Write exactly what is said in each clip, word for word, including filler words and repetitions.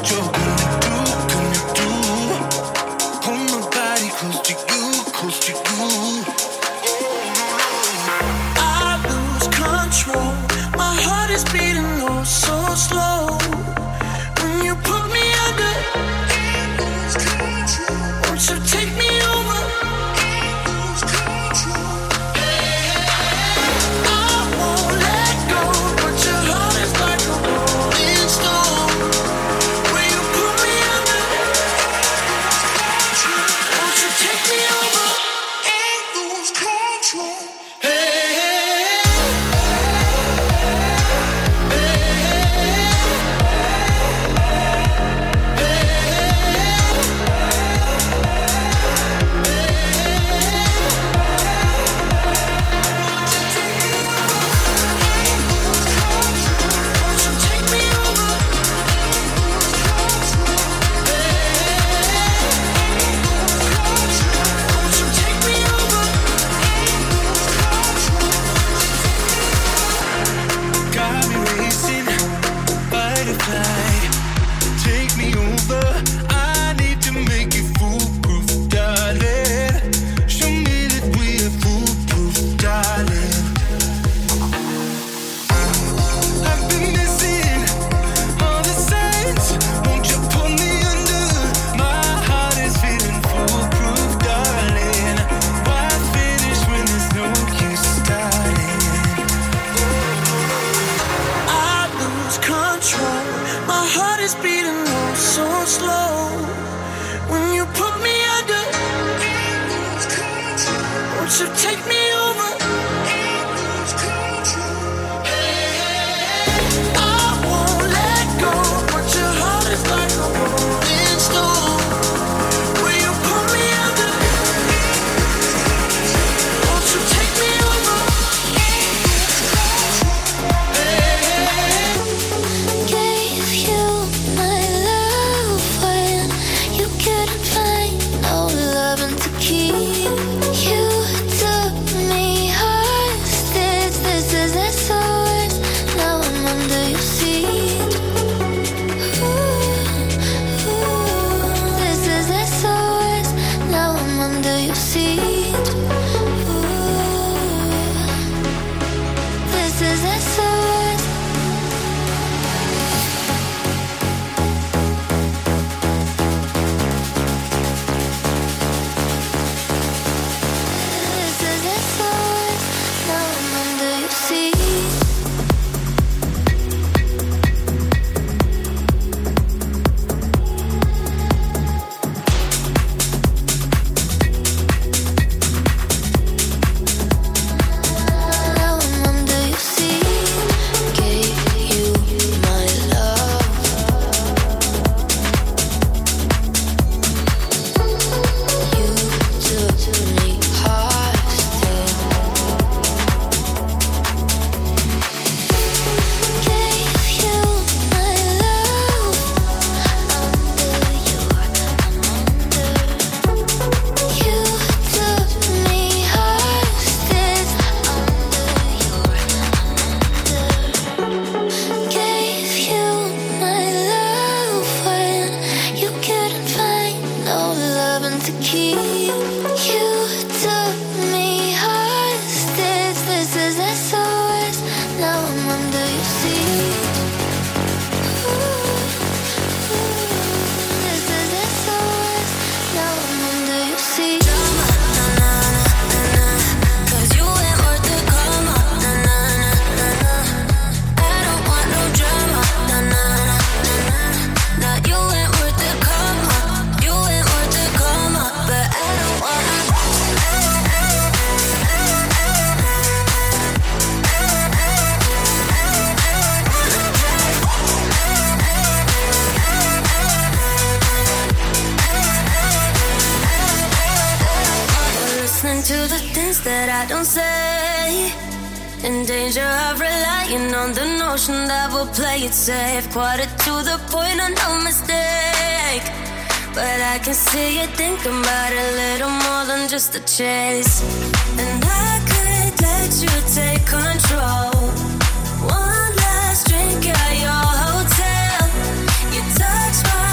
that I don't say. In danger of relying on the notion that we'll play it safe. Quarter to the point of no mistake. But I can see you thinking about it a little more than just a chase. And I could let you take control. One last drink at your hotel. You touch my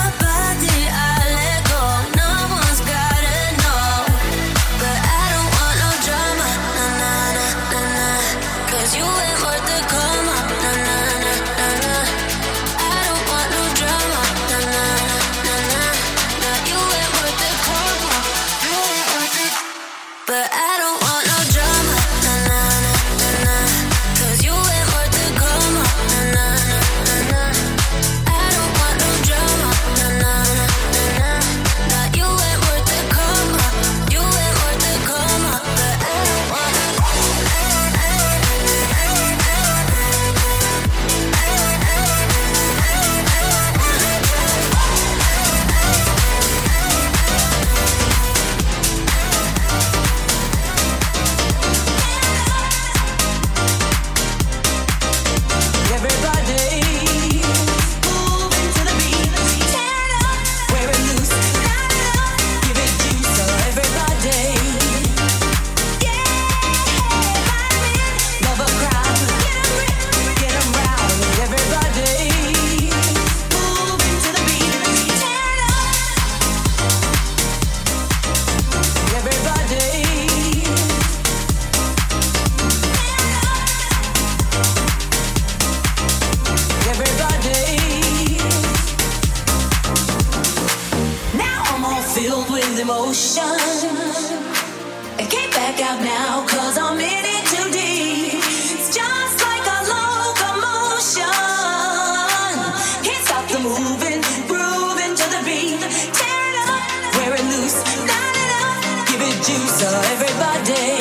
emotion. I can't back out now, cause I'm in it too deep. It's just like a locomotion. Can't stop the moving, grooving to the beat. Tear it up, wear it loose, light it up, give it juice, so everybody.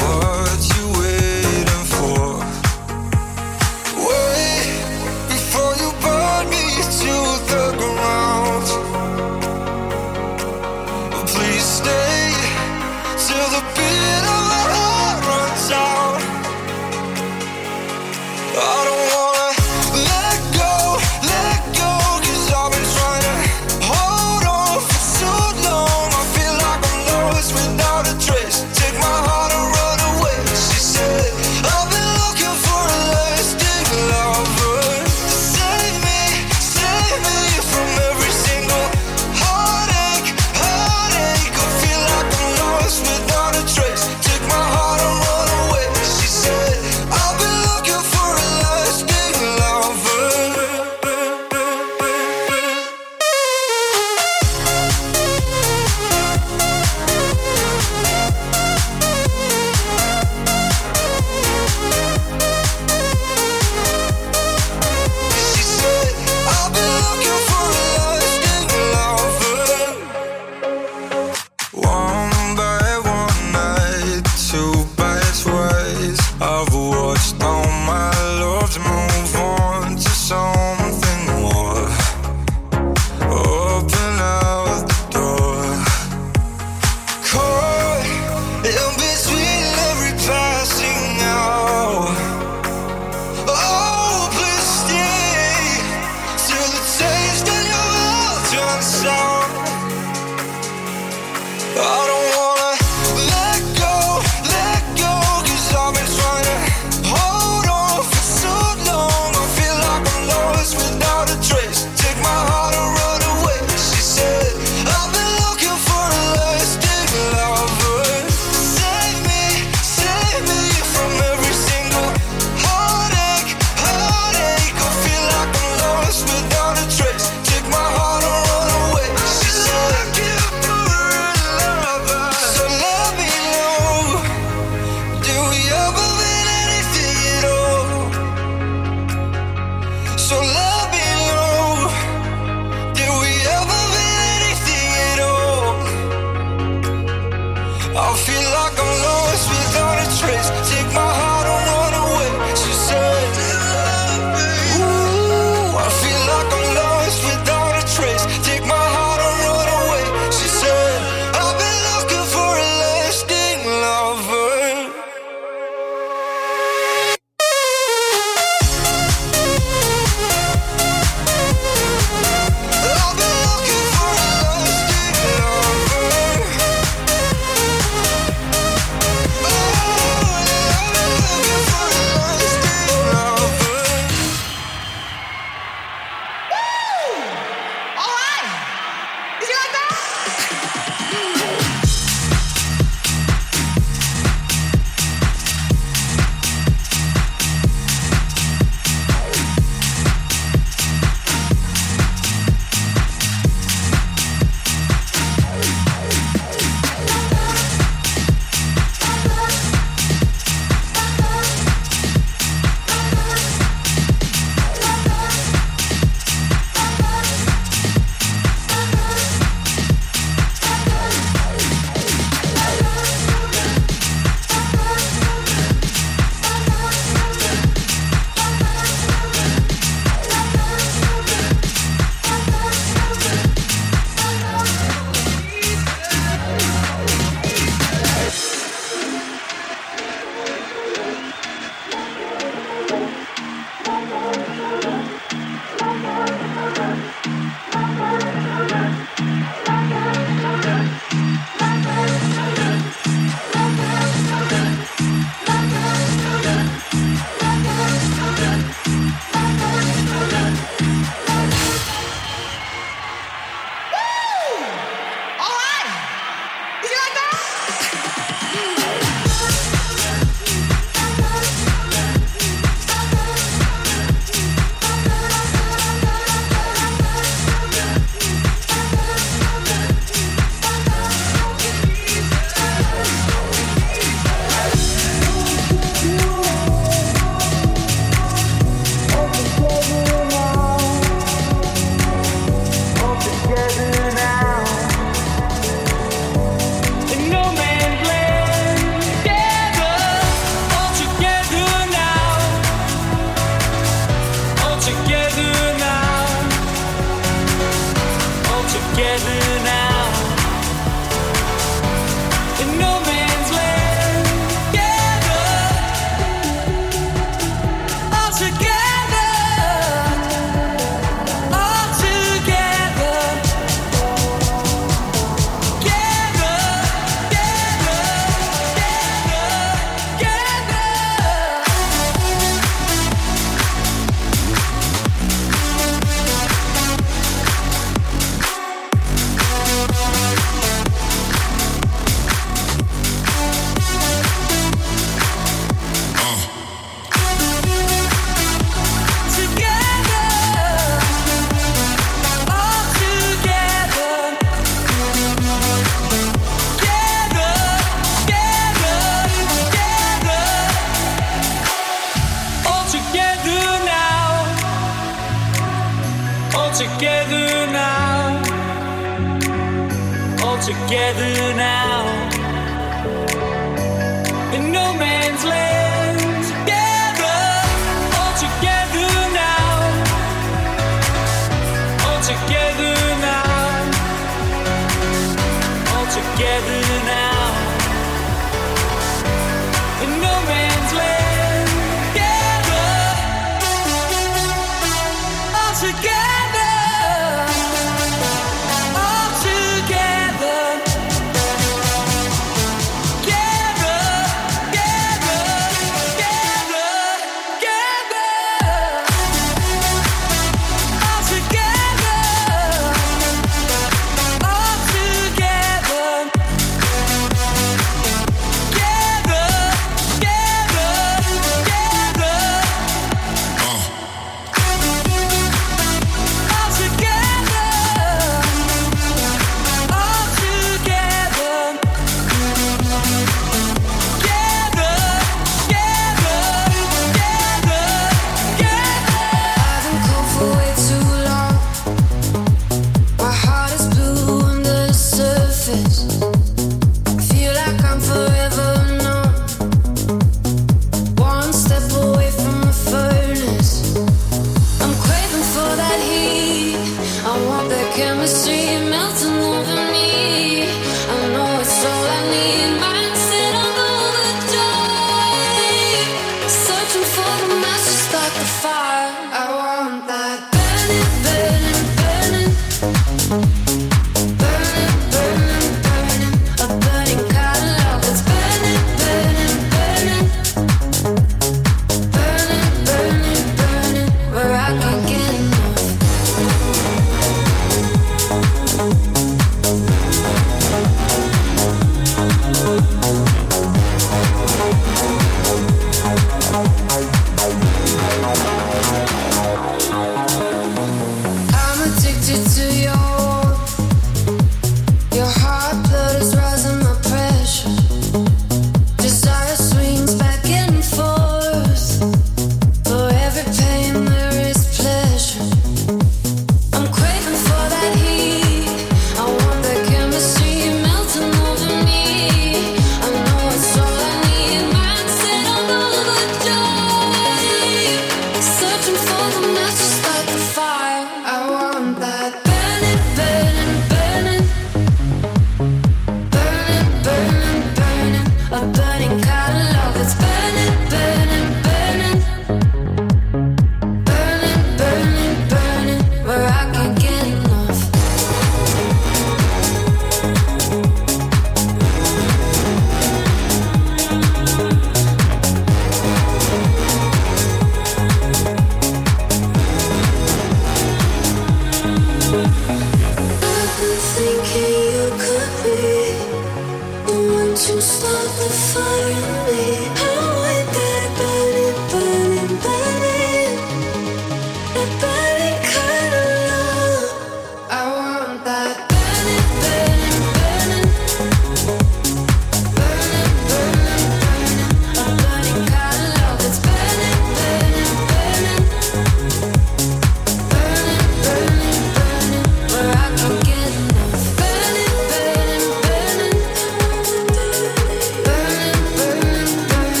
Burning,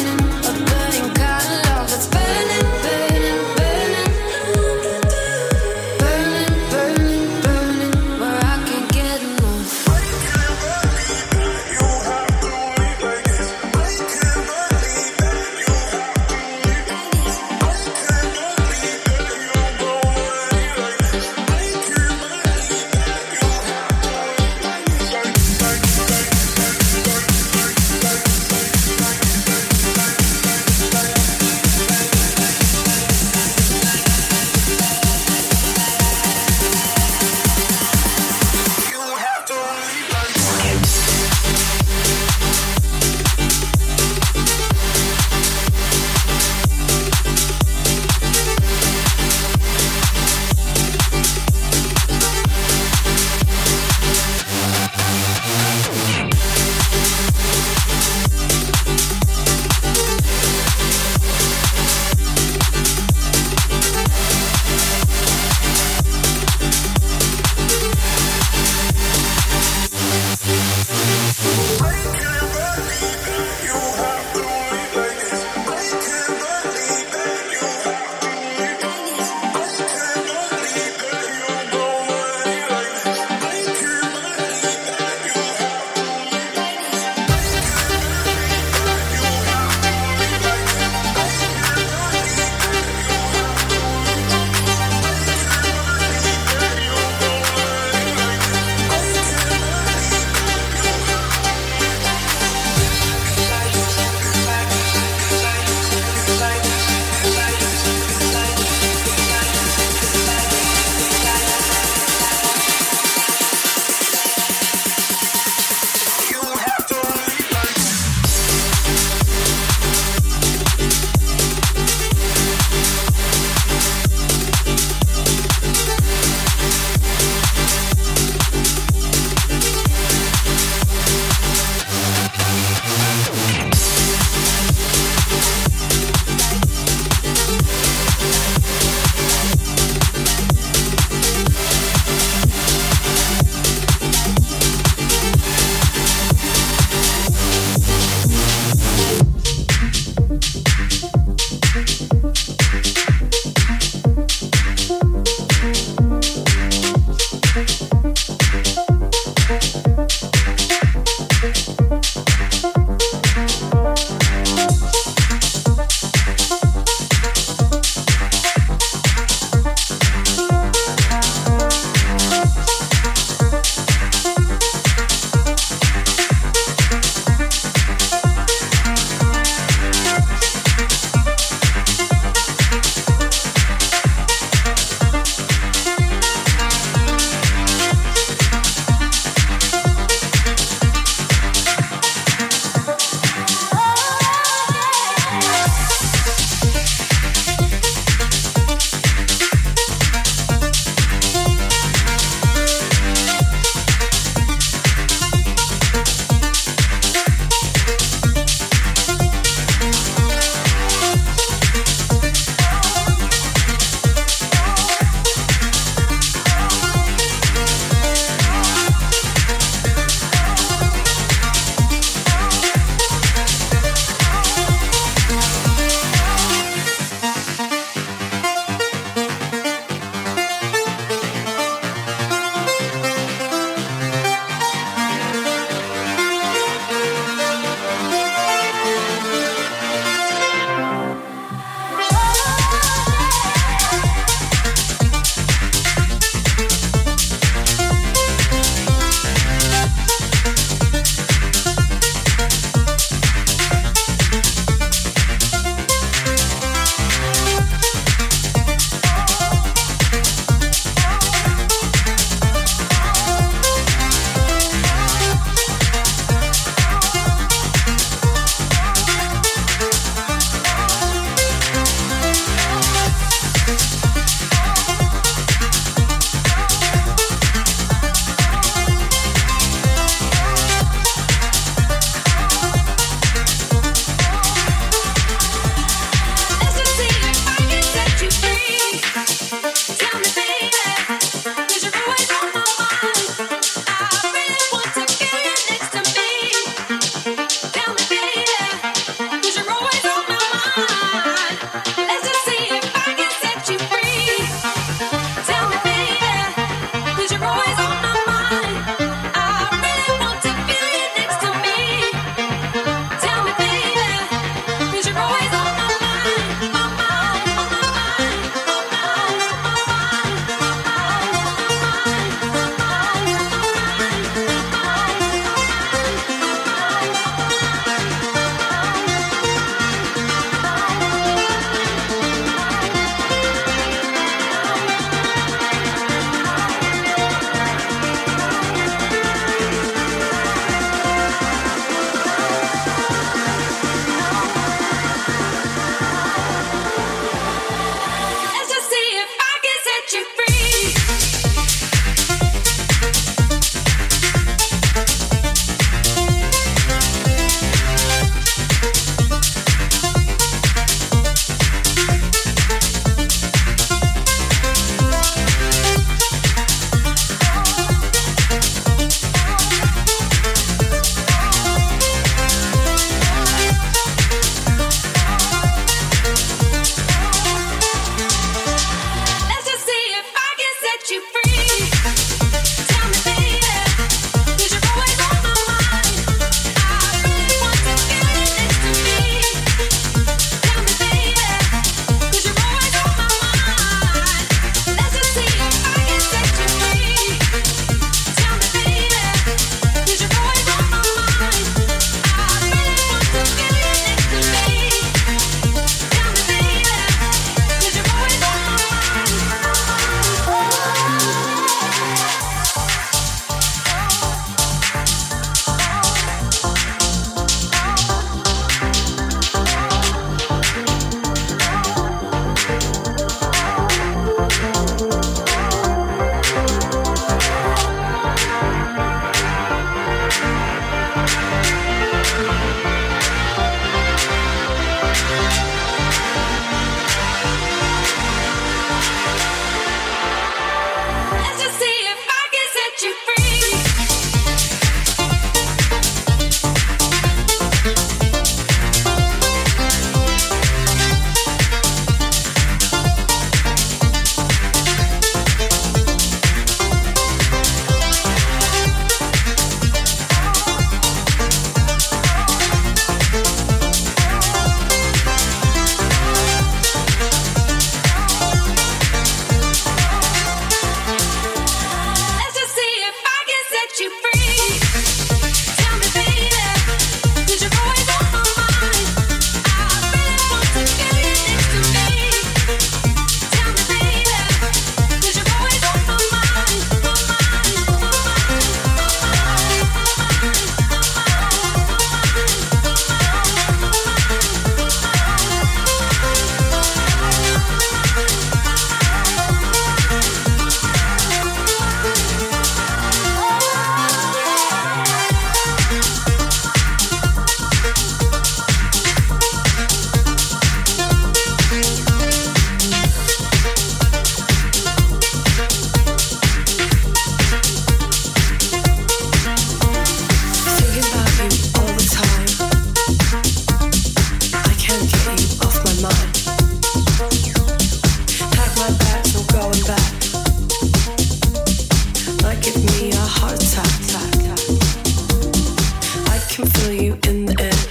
you in the air.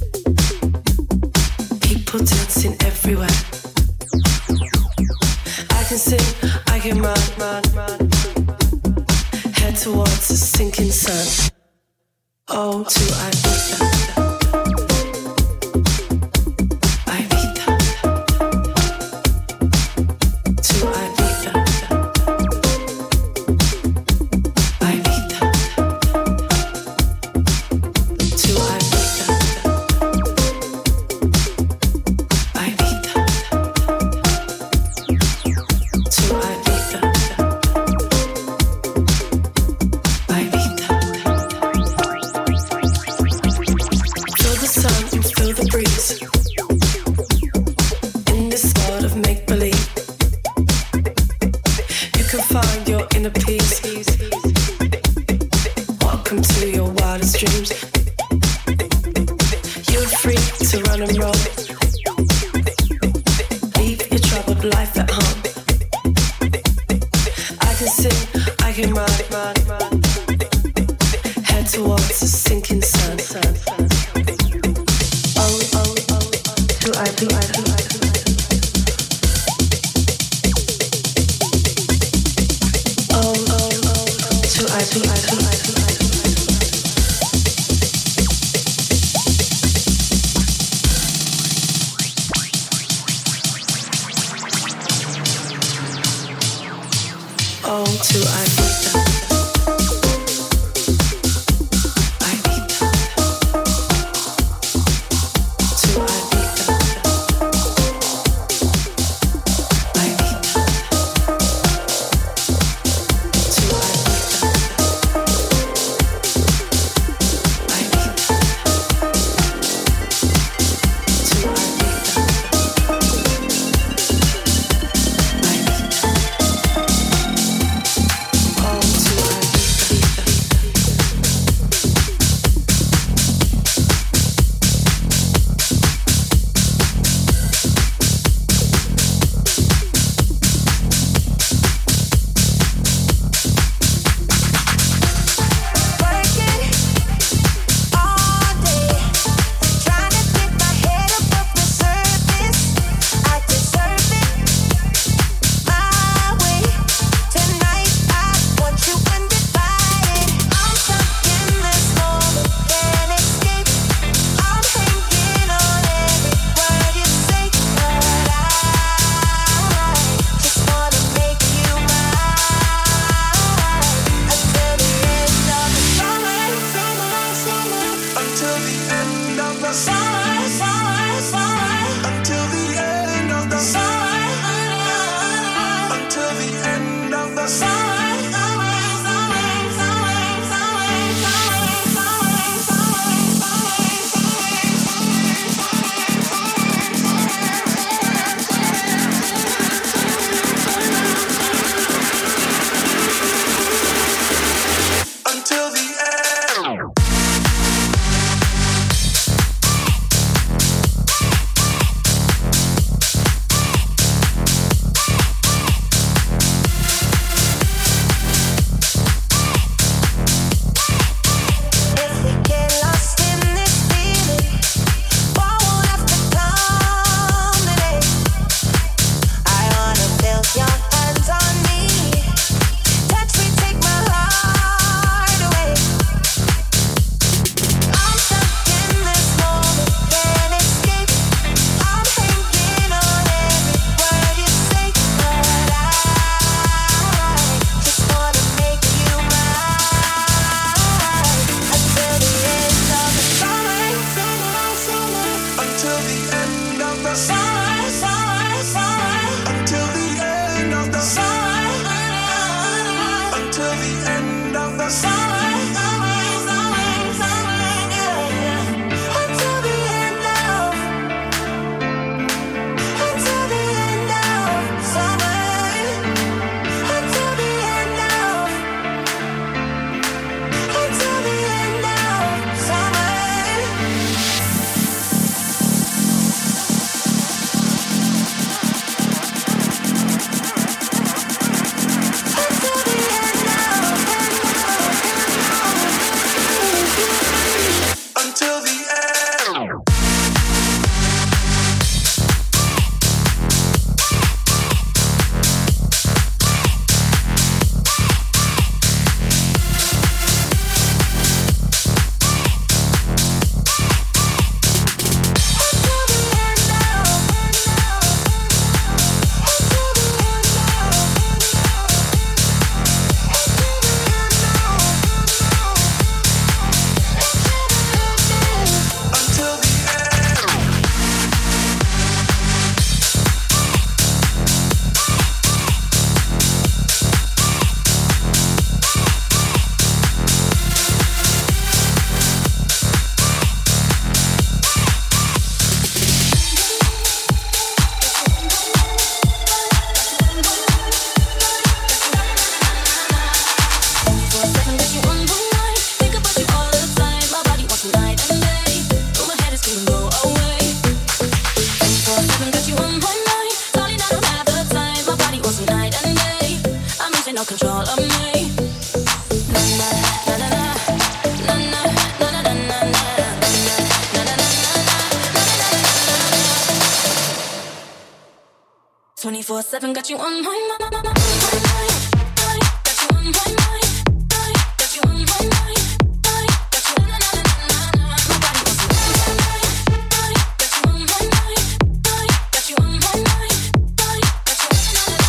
People dancing everywhere. I can sing, I can run, run, run. Head towards the sinking sun. Oh, to Ibiza. twenty-four seven got you on my mind. Got you on my mind. Got you on my mind. Got you na na na na na. My body wants you. Got you on my mind. Got you on my mind. Got you na na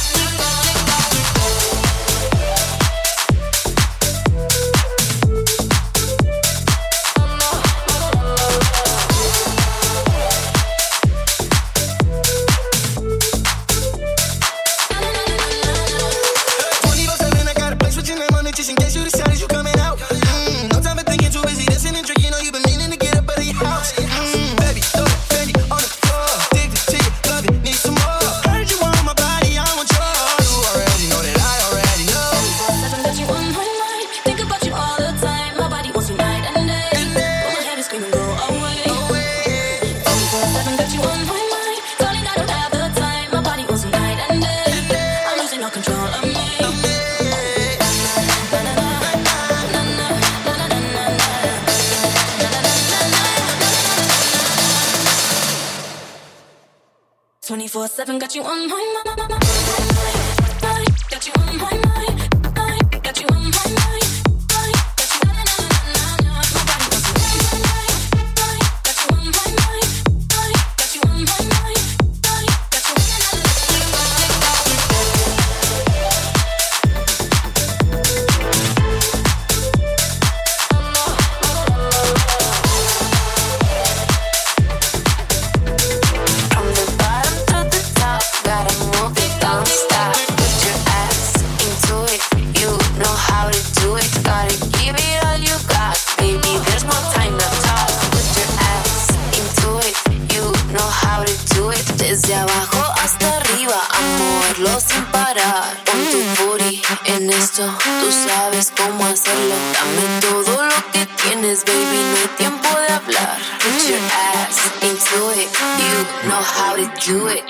twenty-four seven got you on my mind. Got you on my mind. Got you on my mind. Got you na na na na na. My body wants you. Got you on my mind. Got you on my mind. Got you na na desde abajo hasta arriba, a moverlo sin parar. Pon tu booty en esto, tú sabes cómo hacerlo. Dame todo lo que tienes, baby, no hay tiempo de hablar. Put your ass into it, you know how to do it.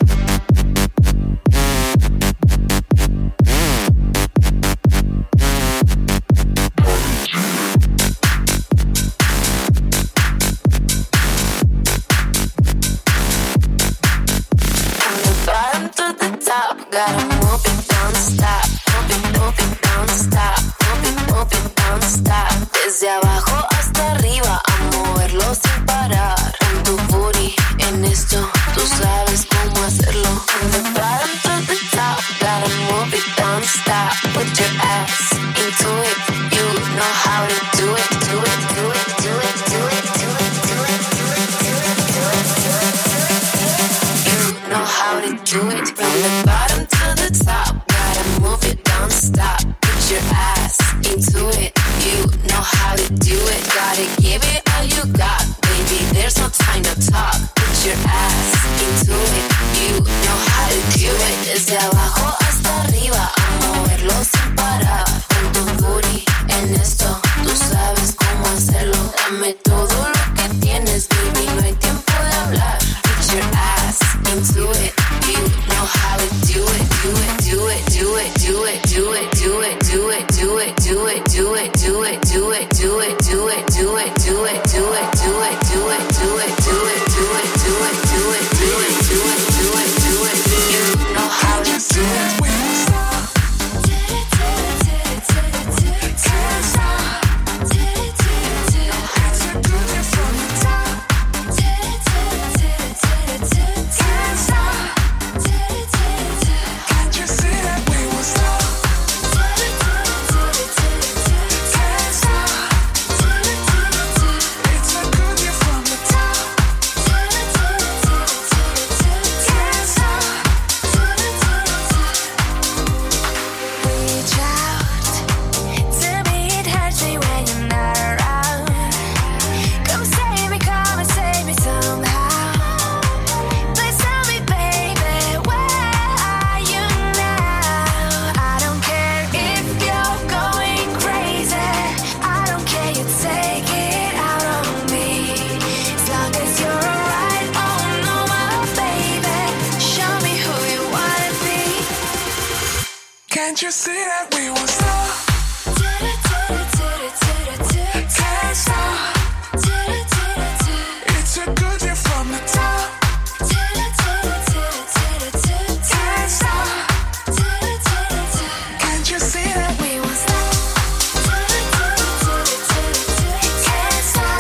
Gotta move it, don't stop. Move it, move it, don't stop. Move it, move it, don't stop. Desde abajo hasta arriba, a moverlo sin parar. Pon tu booty en esto, tú sabes cómo hacerlo. From the bottom to the top, gotta move it, don't stop. Put your ass into it, you know how to do it, do it, do it, do it, do it, do it, do it, do it, do it, do it, do it, do it. You know how to do it. From the bottom to the top, gotta move it, don't stop. Put your ass into it, you know how to do it. Gotta give it all you got, baby, there's no time to talk. Put your ass into it, you know how to do it. Desde abajo hasta arriba, a moverlo sin parar. Con tu booty en esto, tú sabes cómo hacerlo. Dame todo lo que tienes, baby, no hay tiempo de hablar. Put your ass into it, you know how to do it. Can't you see that we won't stop? Can't stop. It's a good year from the top. Can't stop. Can't you see that we won't stop? Can't stop.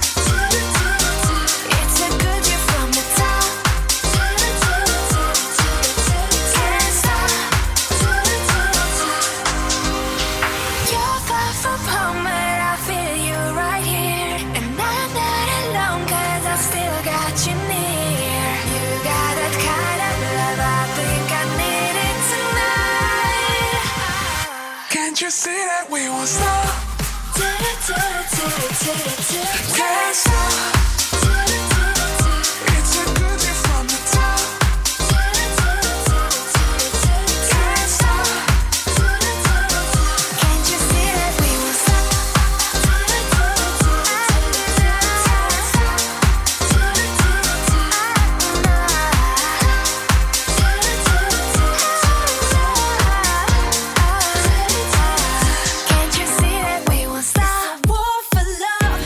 It's a good year from the top. Can't stop. You're far from home, but I feel you right here. And I'm not alone, cause I've still got you near. You got that kind of love, I think I need it tonight. Can't you see that we won't stop? Can't stop. It's a good year from the top. Can't stop. Can't you see that we won't stop? Can't you see that we won't stop? It's a war for love.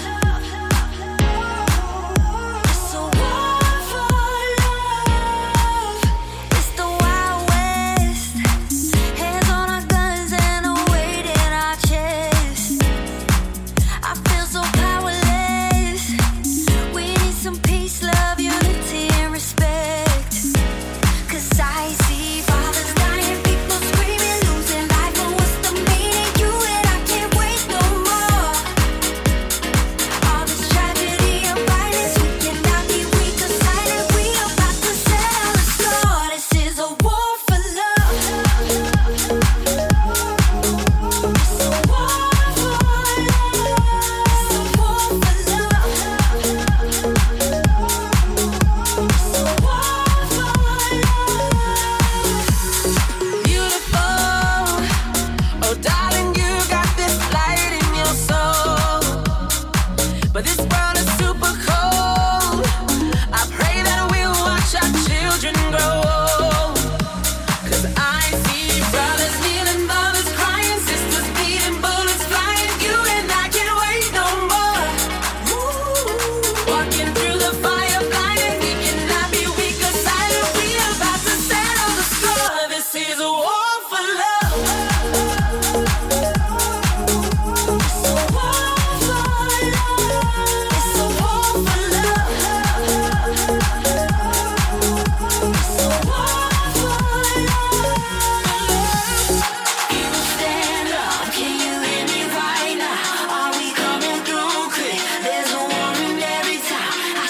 It's a war for love. It's the Wild West. Hands on our guns and a weight in our chest. I feel so powerless. We need some peace, love, unity, and respect. Cause I see fathers dying, people screaming, losing life. But what's the meaning? You and I can't wait no more. All this tragedy and violence, we cannot be weak or silent. We about to settle the score. This is a war for love. It's a war for love. It's a war for love. It's a war for love. Beautiful. Oh, darling, you got this light in your soul. But this world is super cold. I pray that we'll watch our children grow old. Cause I see brothers kneeling, mothers crying, sisters bleeding, bullets flying. You and I can't wait no more. Walking through the fire, blinded, we cannot be weak or silent. We about to settle the score. This is a war for love. It's a war for love. It's a war for love. It's a war for love. People stand up, can you hear me right now? Are we coming through quick? There's a war in every town. I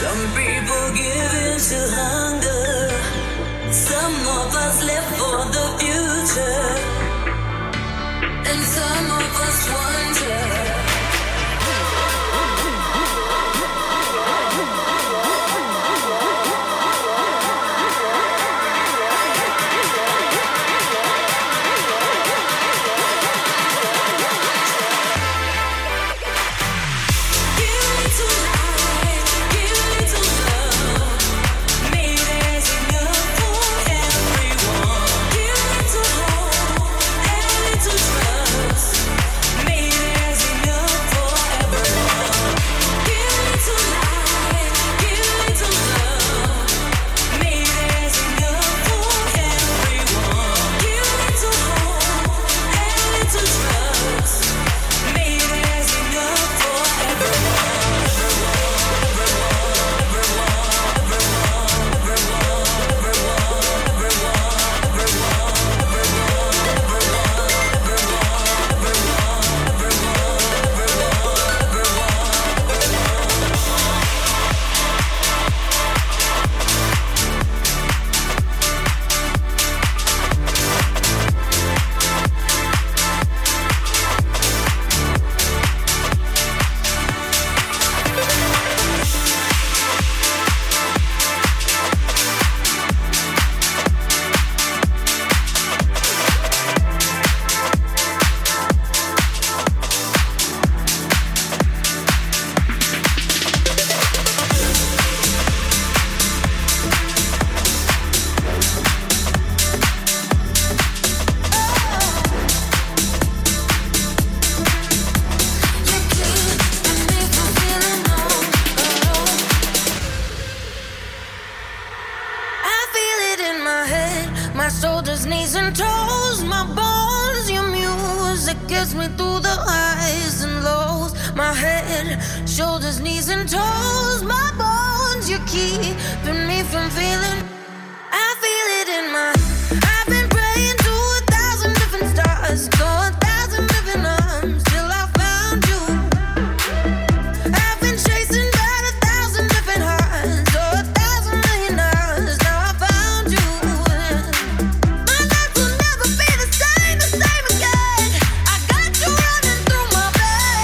Some people give in to hunger. Some of us live for the future. And some of us wonder.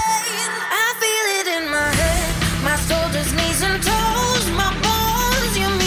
Knees and toes, my bones, you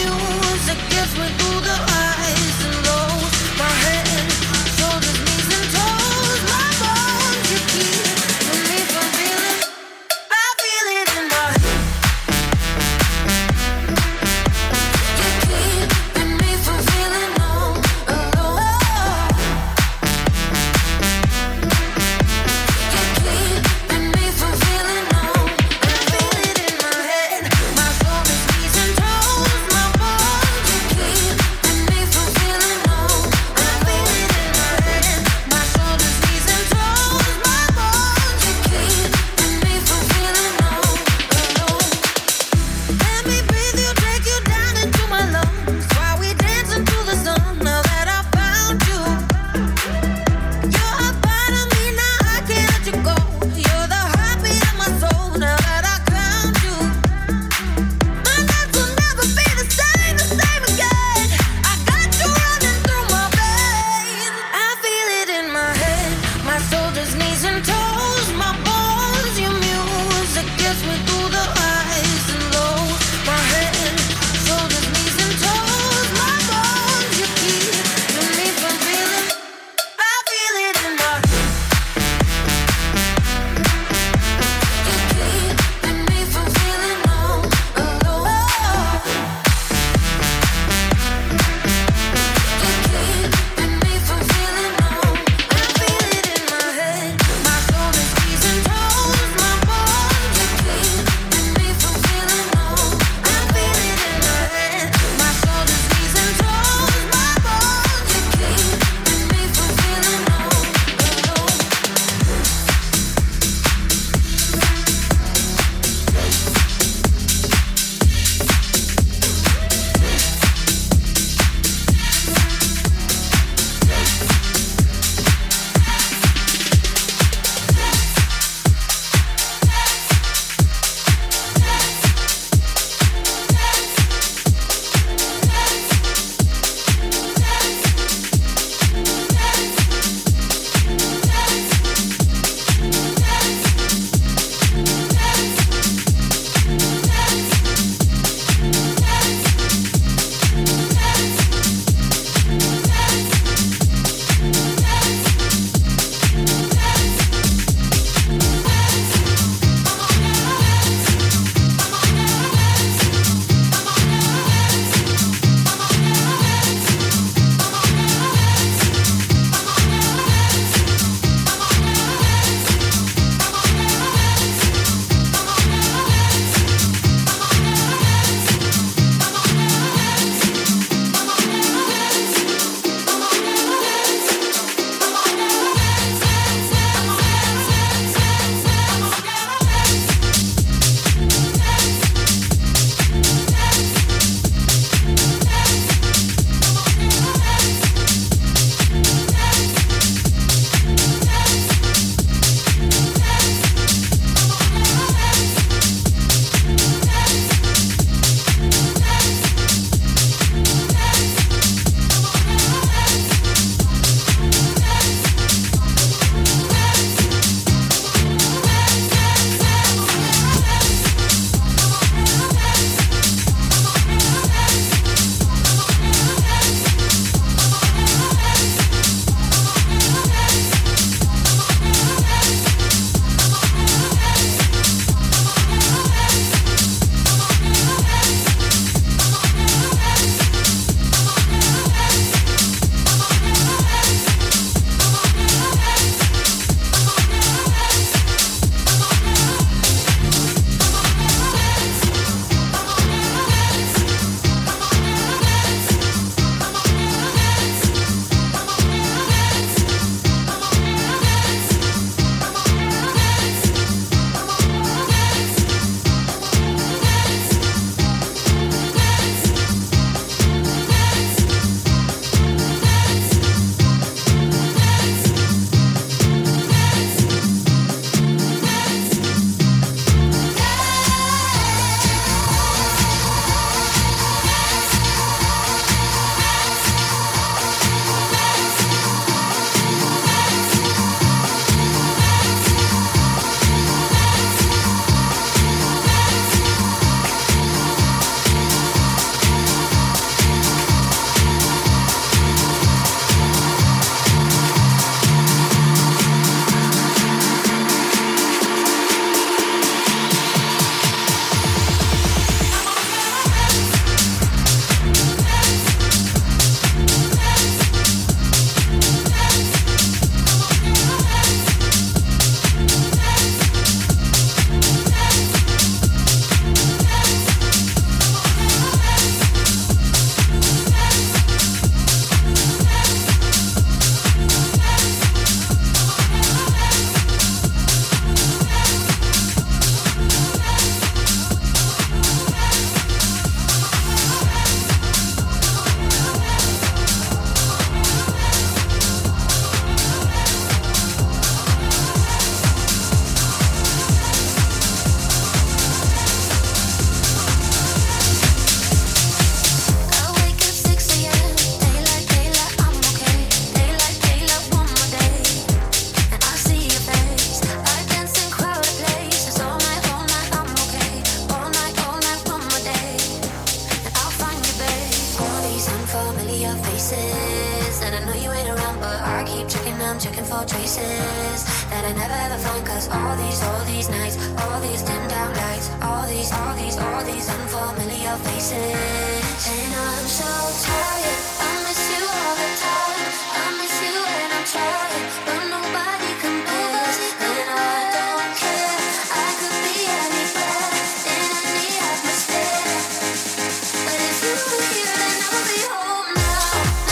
I'm checking for traces that I never ever find. Cause all these, all these nights, all these dimmed out lights, all these, all these, all these unfamiliar faces. And I'm so tired, I miss you all the time. I miss you and I'm trying, but nobody compares. And I don't care, I could be anywhere, in any atmosphere. But if you were here, then I would be home now.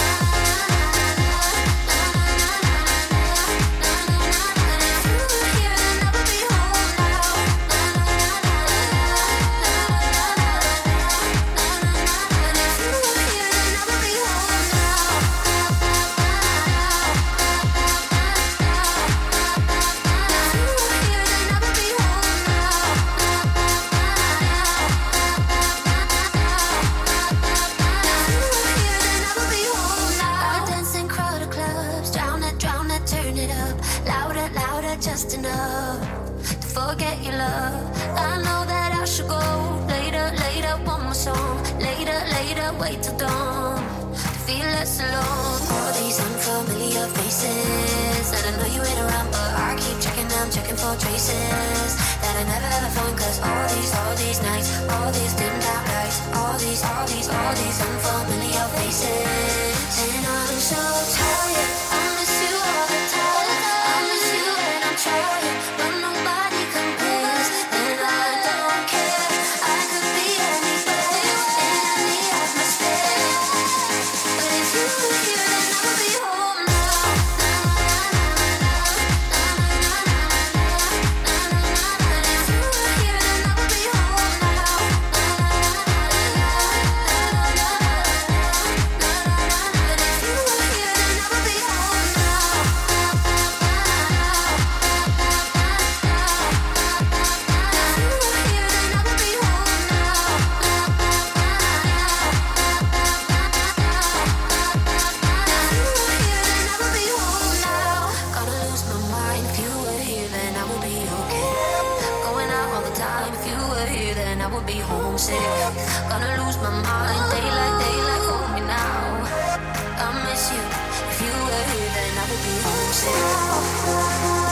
Just enough to forget your love. I know that I should go later, later, one more song. Later, later, wait till dawn to feel less alone. All these unfamiliar faces that I know you ain't around, but I keep checking them, checking for traces that I never ever found. Cause all these, all these nights, all these dimmed out lights, all these, all these, all these unfamiliar faces. And I'm so tired, I miss you all the time. I miss you and I'm trying, but nobody compares. And I don't care, I could be anywhere, in any atmosphere. But if you were here, then I would be home now. But if you were here, then I would be home now. But if you were here, then I would be home now. Homesick, gonna lose my mind. Daylight, daylight, hold me now. I miss you. If you were here, then I would be homesick.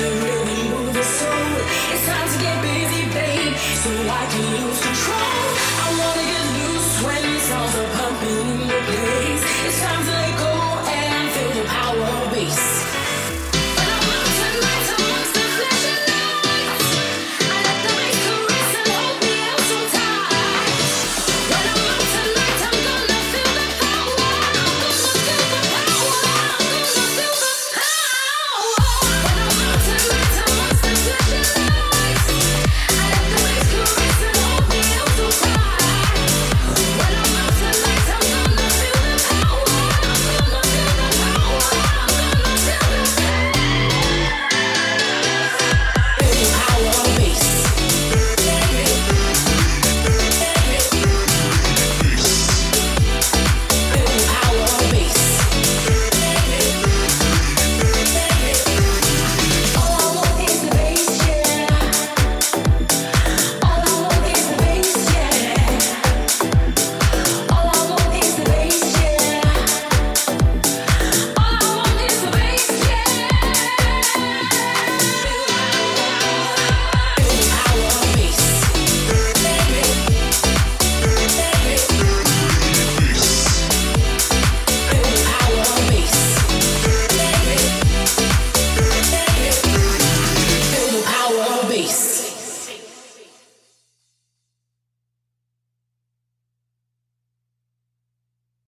So I can lose control.